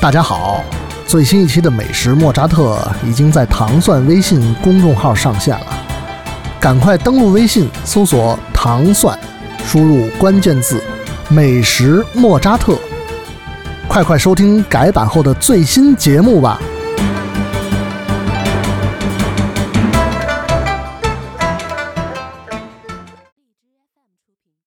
大家好，最新一期的美食莫扎特已经在糖蒜微信公众号上线了，赶快登录微信搜索糖蒜，输入关键字美食莫扎特，快快收听改版后的最新节目吧。